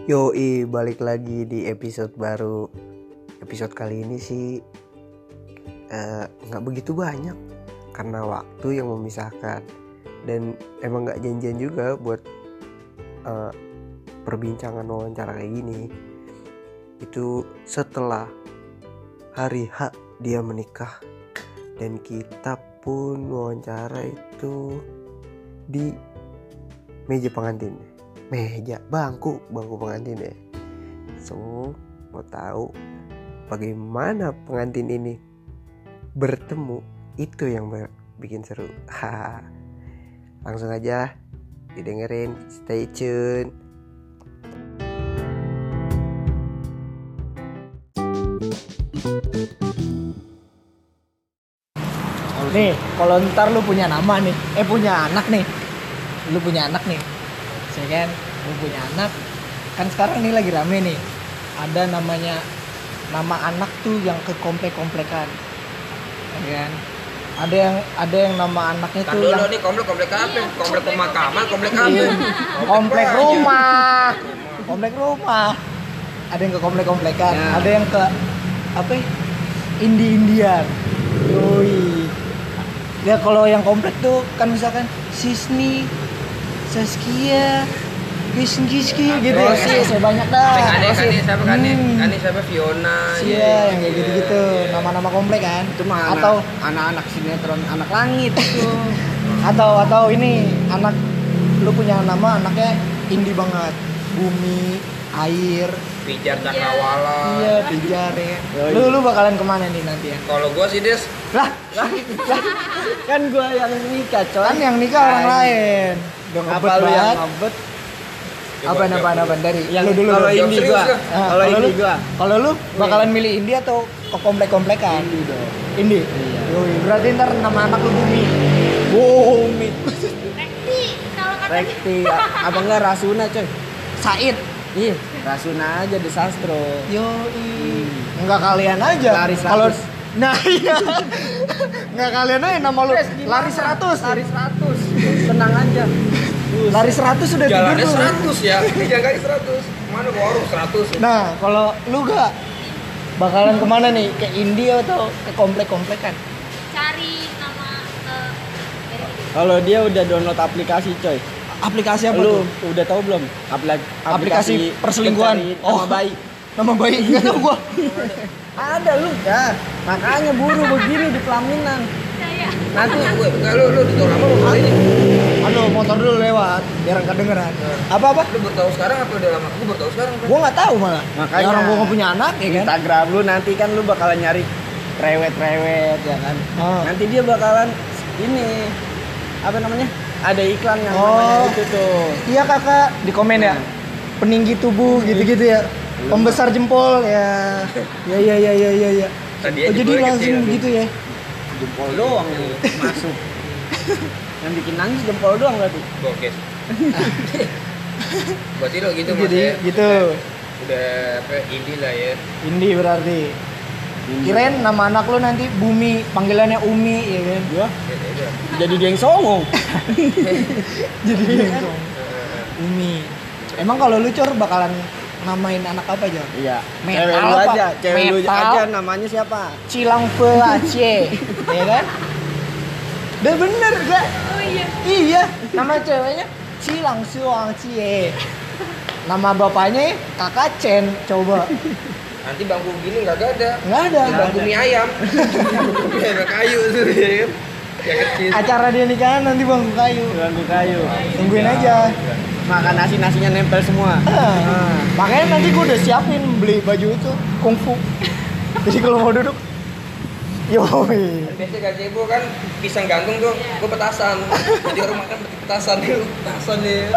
Yoi, balik lagi di episode baru. Episode kali ini sih nggak begitu banyak karena waktu yang memisahkan. Dan emang nggak janjian juga buat perbincangan wawancara kayak gini. Itu setelah hari H dia menikah. Dan kita pun wawancara itu di meja pengantin. Bangku pengantin ya. So, mau tahu bagaimana pengantin ini bertemu, itu yang bikin seru. Langsung aja didengerin, stay tune. Nih, kalau ntar lu punya nama nih, punya anak nih. Lu punya anak nih. Ya kan, lu punya anak. Kan sekarang nih lagi rame nih. Ada nama anak tuh yang ke komplek-komplekan. Ya kan? Ada yang nama anaknya tuh dulu yang nih komplek apa? Komplek pemakaman, komplek apa? komplek rumah. Komplek rumah. Ada yang ke komplek-komplekan, Ya. ada yang ke apa? Indian. Yoi. Ya kalau yang komplek tuh kan misalkan Sisni, Saskia, Giski gitu ya. Saya banyak dah. Kani siapa Fiona. Iya, yang kayak gitu-gitu. Nama-nama komplek kan. Itu mah atau anak-anak sinetron Anak Langit itu. atau ini anak lu punya nama anaknya indie banget. Bumi, air. Pijar Cakrawala. Iya, pijar ya. Lu bakalan kemana nih nanti ya? Kalau gua sih Des, Lah, Kan gua yang nikah, coy. kan yang nikah orang lain. Udah Apa ngebet lu yang banget. ngebet? Apa dari Yang lu dulu. kalau dulu. indie serius gua. dah. Kalau indie gua. Kalau lu bakalan milih indie atau ke komplek-komplekan? Indie dong. Indie. Iya. Yoi, berarti ntar nama anak lu Bumi. Bumi. Rekti, kalau kata Rekti, apa enggak Rasuna, coy? Said. Ih, Rasuna aja di sastro. Yoi. Enggak kalian aja. Lari 100. Kalau nah iya. Enggak kalian aja nama lu lari 100. Lari 100. Tenang aja. Lari 100 sudah tidur jalannya tuh. 100 ya. Jangan kali 100. Mana warung 100. Nah, kalau lu gak bakalan kemana nih? Ke indie atau ke komplek-komplekan? cari nama Kalau dia udah download aplikasi, coy. Aplikasi apa Lu tuh? udah tahu belum? Aplikasi perselingkuhan. pencari nama bayi. Nama bayi enggak tahu gua. Ada lu ya. Makanya buru begini di pelaminan. saya Nanti Gue lu di tol lama mau ini. Aduh, motor dulu lewat biar enggak kedengeran. Apa-apa? Lu baru tahu sekarang apa udah lama? Gue baru tahu sekarang. Gua enggak tahu malah. Makanya. Ya, orang gua enggak punya anak ya kan. Instagram lu nanti kan lu bakalan nyari rewet ya kan. Ah. Nanti dia bakalan ini apa namanya? Ada iklan yang Oh. namanya itu tuh. Iya kakak, di komen ya. Peninggi tubuh gitu-gitu ya. Pembesar jempol ya. Ya. Tadi Oh, aja jadi gue langsung kecil. begitu ya. Jempol doang yang masuk. Yang bikin nangis jempol doang berarti. Bokeh. Berarti lo gitu Mas Jadi ya. gitu. Udah apa indie lah ya. Indie berarti. Kirain nama anak lu nanti Bumi, panggilannya Umi ya kan. Gua Beda. jadi geng songong. Jadi Umi. Emang kalau lu Cor bakalan namain anak apa aja? Iya. Metal Cewek lu apa? aja, cewek lu Metal. aja namanya siapa? Cilang Fe Aceh, ya kan? Udah bener gak? oh iya Iya, nama ceweknya Cilang Suang Cie. Nama bapaknya Kakak Chen, coba. Nanti bangku gini nggak ada. Nggak ada. Bangku mie ayam. Mie ayam kayu tuh ya kan. Yang kecil. Acara dia nikahan nanti bangku kayu. Bangku kayu. Tungguin aja. Makan nasinya nempel semua. Makanya nanti gue udah siapin beli baju itu kungfu. Jadi kalau mau duduk, yoi. Biasanya gaji gue kan pisang gantung tuh, gue petasan. Jadi orang makan petasan nih.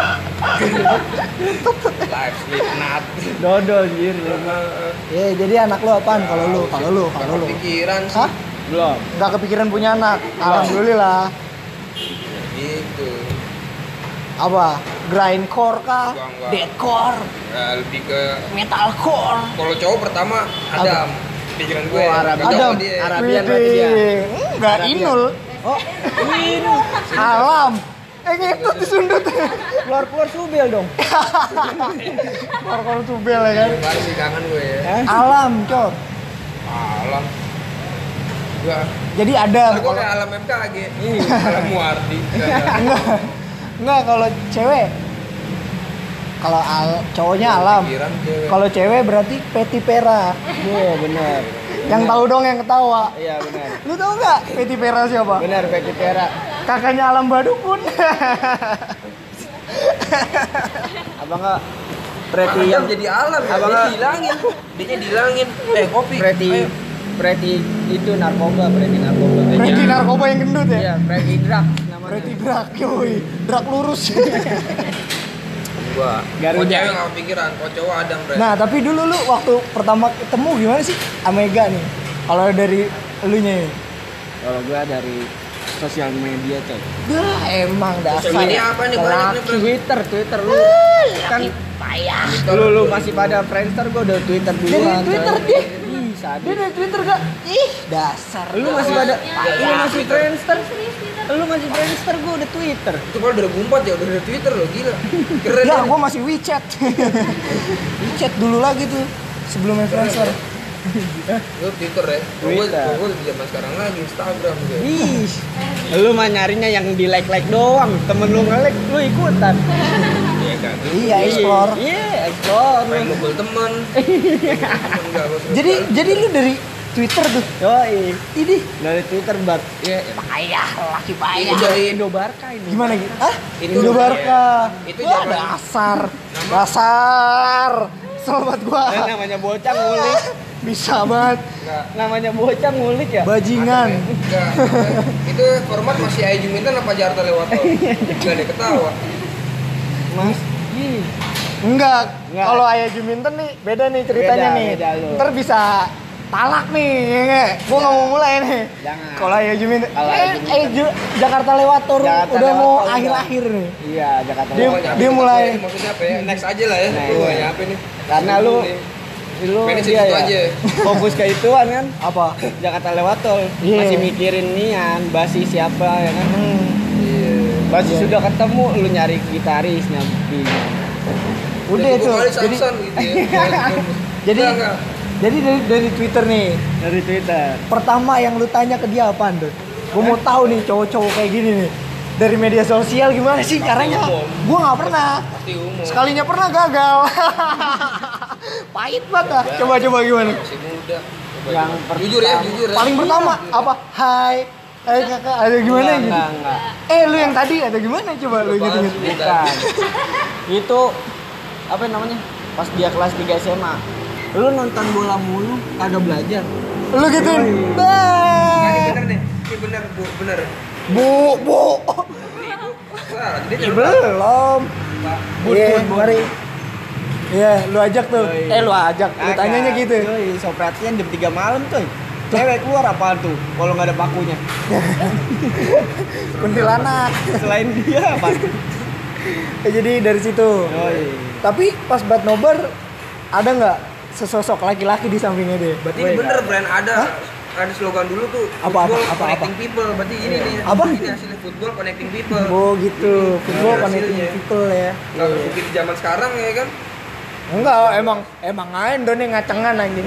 Live sleep nut. Dodol anjir. Ya, jadi anak lu apaan kalau lu? Kalau lu. Pikiran sih. Hah? Belum. Nggak kepikiran punya anak? Alhamdulillah. Gitu. Apa? Grindcore kah? Enggak. Deadcore? Nah, lebih ke Metalcore? kalau cowok pertama Adam. Pikiran gue. Oh, Arab. Cocok Adam. sama dia. Arabian berarti dia. Enggak, Arabian. Inul. Oh, Inul. Alam. Ngikut disundut. Keluar subel dong. Keluar tubel ya kan. Baru sih kangen gue ya. Alam, Cor. Alam. Enggak. Jadi ada. Gue kayak alam MKG. Alam Muardi. Enggak kalau cewek. Kalau cowoknya alam. Pikiran cewek. Kalau cewek berarti Peti Pera. Iya benar. Yang tahu dong yang ketawa. Iya benar. Lu tahu nggak Peti Pera siapa? Benar Peti Pera. Kakaknya Alam Badukun. Apa enggak Preti Adam yang jadi alam ya, Abang dia nggak- dihilangin. Dia dihilangin. Kopi. Ayo. Preti itu narkoba, Preti narkoba. Preti narkoba yang gendut ya? Iya, Preti drug namanya. Preti Drak, yoi. Drak lurus. Gua. Garuda. Kok cewek nggak kepikiran, kok cowok Adam bre. Nah, tapi dulu lu waktu pertama ketemu gimana sih Amega nih? Kalau dari elunya nih. Kalau gua dari sosial media coy. Dah, emang dasar. Ini apa nih banyak nih bre? Twitter lu kan payah. Lu masih pada Friendster, gua udah Twitter duluan. Dari Twitter coy. dia. Ih, sadis. Dia dari Twitter gak? Ih, dasar. Lu masih pada lu masih Friendster. Serius Twitter. Lu masih Friendster, gua udah Twitter. Itu kalau 2004 ya udah ada Twitter loh, gila. Keren Ya, ya. gua masih WeChat. WeChat dulu lagi tuh sebelum influencer. Lu Twitter ya. Twitter. Gue di zaman sekarang lagi Instagram gitu. Ih, lu mah nyarinya yang di like doang. Temen lu nge-like, lu ikutan. Iya kan. Iya, explore. Iya, explore. Main mobile temen. Enggak, gua suka sekali. Jadi lu dari Twitter tuh. Yoi. Ini Dari Twitter bar. Iya. payah, laki Itu payah. dari Indobarka ini. Gimana gitu? Hah? Itu Indobarka. iya. Itu Wah, zaman- dasar. Sobat gua. Namanya bocah ngulik. Bisa banget. enggak. Namanya bocah ngulik ya. Bajingan. Enggak. Itu format masih Ayu Juminten apa Jakarta lewat tol? Enggak ada ketawa. Mas. Ih. Enggak. Enggak. Kalau Ayah Juminten nih beda nih ceritanya Beda, nih. beda lu. Ntar bisa talak nih, ya nggak? Gua nggak mau mulai nih. Jangan. Kalau Ayah Juminten, Kalau Ayah Juminten. Jakarta lewat tur Jakarta udah lewat mau tol, akhir-akhir nih. Iya, Jakarta. Dia- Oh, Lewat. nyampe dia tempat mulai- ini maksudnya apa ya? Next aja lah ya. Next. Gua nyampe nih. Karena lu Pengen dia situ ya, aja. fokus ke ituan kan. Apa? Jakarta lewat tol. Iya. Masih mikirin nian, Basi siapa ya kan. Iya. Basi sudah ketemu, lu nyari gitaris nyampi. Udah Jadi itu. gua kali Jadi Samson gitu ya. jadi Enggak. jadi dari Twitter nih. Dari Twitter. Pertama yang lu tanya ke dia apaan tuh? Gue mau tahu nih cowok-cowok kayak gini nih. Dari media sosial gimana sih caranya? umum. Gue nggak pernah. Pasti umum. Sekalinya pernah gagal. Pahit banget ah. Coba gimana? Masih muda. Coba, Yang coba. Jujur ya, jujur ya. Paling pertama apa? Hai. Hai kakak, ada gimana gitu? Enggak. Lu yang tadi ada gimana coba lu gitu gitu. Bukan. Itu apa namanya? Pas dia kelas 3 SMA. Lu nonton bola mulu, kagak belajar. Lu gituin. Nah, ini Bah. bener nih. Ini bener, Bu, bener. Bu. Wah, jadi Ih, belum. Iya, mari. Iya, lu ajak tuh. Yoi. Lu ajak. Lu tanyanya gitu. Yoi, so perhatian jam 3 malam coy. Cewek keluar apaan tuh? Kalau nggak ada pakunya. Kuntilanak. Selain dia apa? Jadi dari situ. Yoi. Tapi pas buat nobar ada nggak sesosok laki-laki di sampingnya dia? Berarti ini bener brand ada slogan dulu tuh Apa, football apa, connecting people. Berarti ini nih. Apa? Ini hasilnya football connecting people. Oh gitu. Football Ini connecting hasilnya. people ya. Kalau terbukti di zaman sekarang ya kan. Enggak, emang aja Doni ngacengan anjing.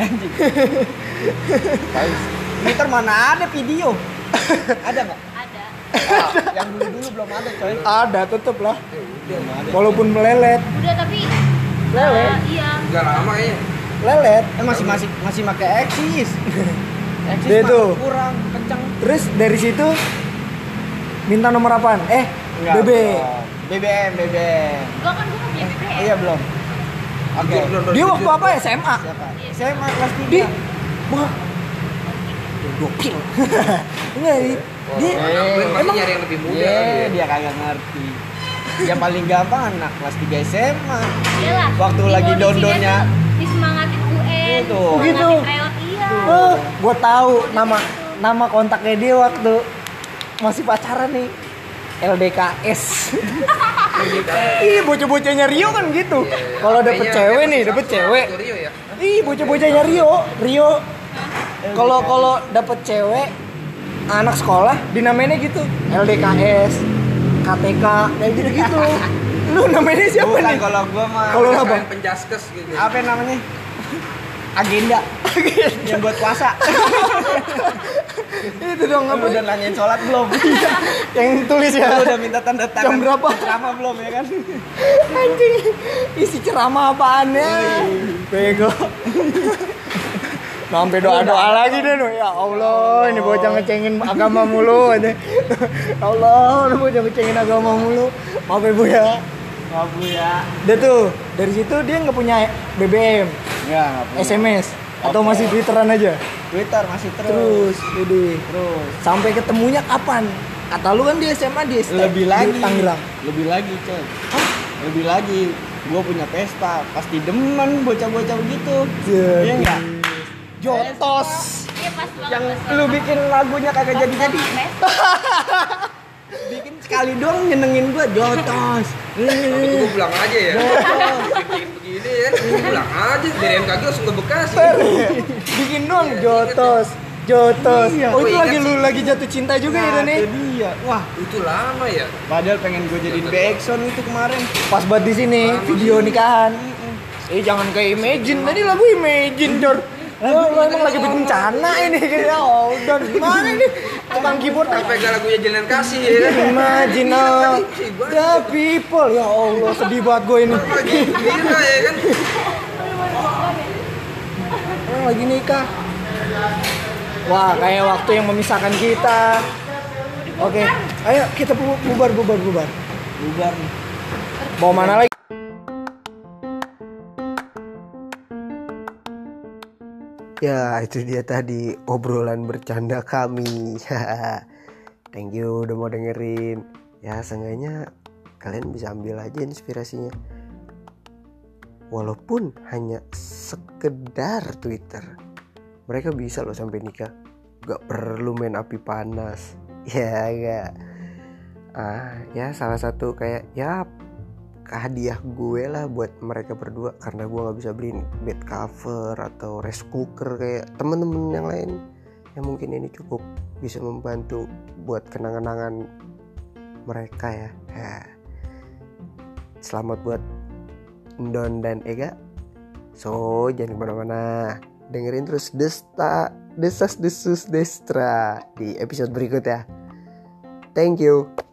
Twitter mana ada video? Ada nggak? Ada. Yang dulu belum ada coy. Ada, tetep lah. Belum ada. Walaupun melelet, Udah tapi Lele. iya. Enggak lama ya. lelet. Masih pakai Exis. Exis Dia mah tuh. kurang kenceng. Terus dari situ minta nomor apaan? Enggak, BB. belum. BBM. Gua kan gua punya BBM. Iya belum. Oke. Belum, Dia jujur. waktu apa SMA? Siapa? SMA kelas 3. Di wah. Gokil. Enggak, Oh, dia brand masih nyari yang lebih muda kan dia. Dia kagak ngerti. Yang paling gampang anak kelas 3 SMA. Iyalah. Waktu Di lagi kondisinya don-donnya. tuh disemangatin UN. Gitu. Gitu. Semangatin tryout iya. Gua tahu nama kontaknya dia waktu masih pacaran nih. LDKS. Ih, bocah-bocahnya Rio kan gitu. Kalau dapet Kayaknya cewek dia nih, masih dapet Samsung cewek. atau Rio ya. Ih, bocah-bocahnya Rio. Kalau dapet cewek anak sekolah dinamainnya gitu, LDKS. KTK kayak gitu-gitu. Lu namanya siapa Bukan nih? kalau gua mah. Kalau apa? Kalian penjaskes gitu. Apa namanya? Agenda. Yang buat puasa. Itu dong Lu apa? udah nanyain sholat belum? Yang tulis ya. Lu udah minta tanda tangan. Jam berapa? Ceramah belum ya kan? Anjing. Isi ceramah apaan ya? Bego. Sampai doa-doa lagi deh no. Ya Allah, ini bocah ngecengin agama mulu aja. Ya Allah, ini bocah ngecengin agama mulu. Maaf ya Bu ya. Maaf Bu ya. Dia tuh dari situ dia nggak punya BBM, Enggak punya. SMS atau Oke. masih Twitteran aja. Twitter masih Terus, jadi Terus. sampai ketemunya kapan? Kata lu kan di SMA di Lebih lagi. di Tangerang. Lebih lagi, coy. Lebih lagi. Gua punya pesta, pasti demen bocah-bocah begitu. Jadi. Iya enggak? Jotos. Iya pas banget. Yang pas lu banget. bikin lagunya kagak jadi-jadi. Bikin sekali doang nyenengin gua jotos. Kalau gitu gue pulang aja ya. Bikin begini ya. Pulang aja. Dari MKG langsung ke Bekasi. Bikin dong Jotos. Jotos. Iya. Oh itu Gua lagi ingat lu sih. lagi jatuh cinta juga ya nih. Itu dia. Wah, Itu lama ya. padahal pengen gua jadiin backsound itu kemarin. Pas buat di sini video nikahan. Jangan kayak Imagine. Tadi lagu Imagine, Dor. Lu emang lagi bikin bencana ini ya. Oh, dan gimana ini? Tukang keyboard Sampai gak lagunya Jalan Kasih ya kan. Imagine the people. Ya Allah, sedih banget gue ini. Lagi gila ya kan. Orang lagi nikah. Wah, kayak waktu yang memisahkan kita. Oke, ayo kita bubar. Bubar nih. Mau mana lagi? Ya, itu dia tadi obrolan bercanda kami. Thank you udah mau dengerin. Ya, seenggaknya kalian bisa ambil aja inspirasinya. Walaupun hanya sekedar Twitter, mereka bisa loh sampai nikah. Gak perlu main api panas. Ya, gak. Ya salah satu kayak ya hadiah gue lah buat mereka berdua, karena gue nggak bisa beliin bed cover atau rice cooker kayak temen-temen yang lain. Ya mungkin ini cukup bisa membantu buat kenang-kenangan mereka ya. Selamat buat Don dan Ega. So jangan kemana-mana, dengerin terus Desas Desus Destra di episode berikut ya. Thank you.